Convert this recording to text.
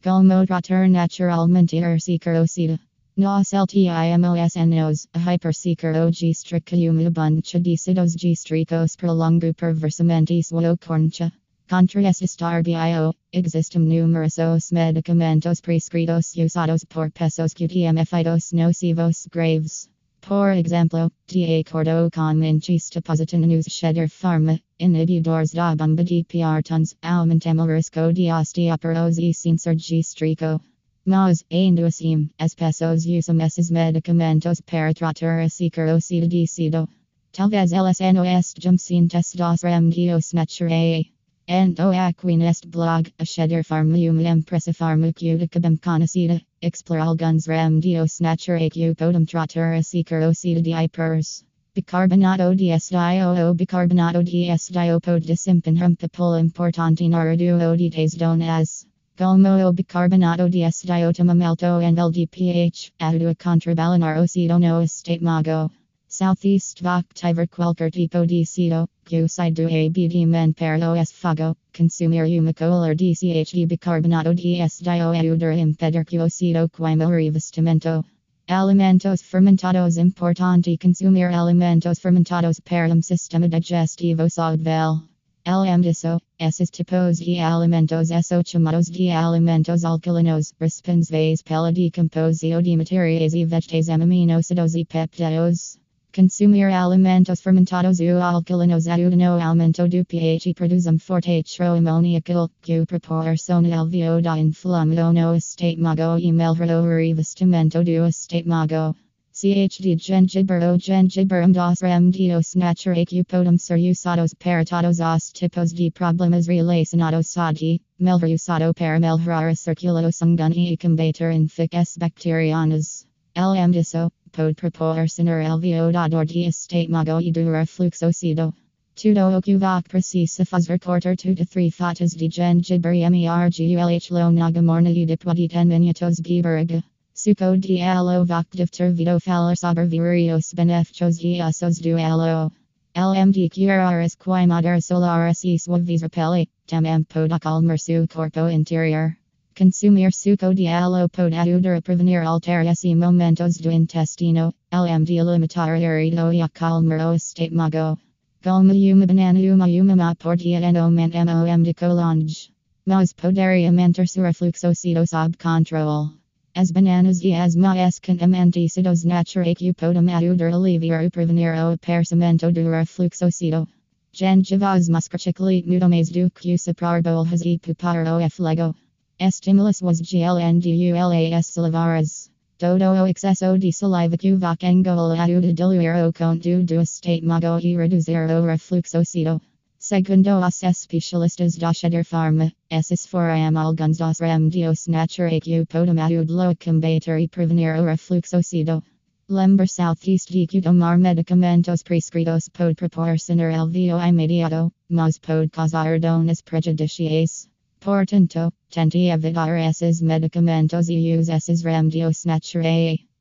Como tratar naturalmente securosida. Nos LTIMOS nos, a hyperseeker og strica uma buncha de sidos de stricos prolongo perversamente suo corncha. Contra estar bio, existem numerosos medicamentos prescritos usados por pesos QTM nocivos graves. Por exemplo, de acordo com inchista positin nos cheddar pharma, inhibidores da bomba de prtons, aumentam o risco de osteoporose sem surge strico. Mas, ainda assim, as pessoas usam esses medicamentos para tratar a securosida de sido. Talvez elas não estejam cientes dos remedios naturais. Ento aqui neste blog, a cheddar pharma uma empresa farmacêutica bem conhecida, explora alguns remedios naturais que podem tratar a securosida de hypers. Bicarbonato de SDIO ou bicarbonato de SDIO pode desempenhar um papel importante na redução de tesdonas. Como o bicarbonato de SDIO toma alto nível de pH, ajuda a contrabalançar o cido no estômago. Southeast Vactiver qualquer tipo de cido, que sai do abdomen para o esfago, consumir uma colher de CH de bicarbonato de SDIO ajuda a impedir que o cido queime o revestimento. Alimentos fermentados importante consumir alimentos fermentados para sistema digestivo saudável. Além disso, esses tipos de alimentos são chamados de alimentos alcalinos, responsáveis pela decomposição de materiais e vegetais aminoácidos e peptídeos. Consumir alimentos fermentados ou alcalinos ajuda no aumento do pH e produz forte amoníaco, que proporciona alívio da inflamação no estômago e melhora o revestimento do estômago. CH de gengibre ou gengibre dos remedios naturais que podem ser usados para todos os tipos de problemas relacionados a melhor usado para melhorar a circulação sanguínea e combater infecções bacterianas. Além disso, pode proporcionar alívio da dor de estômago e do refluxo ácido. Tudo o que você precisa fazer cortar 2 a 3 fatas de gengibre mergulh lo na morna e depois de 10 minutos beberga. Suco de aloe vactive tervido falar sobre vários benefícios de usos do aloe. Além de curar as queimaduras solares e suavizar pele, também pode acalmar seu corpo interior. Consumir suco de aloe pode ajudar a prevenir alterações e momentos do intestino, além de limitar a irritação e acalmar o estômago. Como uma banana uma má por dia no aumento de colonge. Mas poderia manter seu refluxo ácido sob controle. As bananas e as mais contamente ácidos naturais que podem ajudar a aliviar e prevenir o aparecimento do refluxo ácido. Gengivas muscatically muito mais do que soprar bolhas e pupar o fígado. Estímulos os glndulas salivares. Todo o excesso de saliva que você engola ajuda a diluir o conteúdo do estômago e reduzir o refluxo ácido. Segundo os especialistas da cheddar pharma, esses foram alguns dos remedios naturais que podem ajudá-lo a combater e prevenir o refluxo ácido. Lembre Southeast de que tomar medicamentos prescritos pode proporcionar alívio imediato, mas pode causar danos prejudiciais. Portanto, tente evitar esses medicamentos e use esses remedios naturais.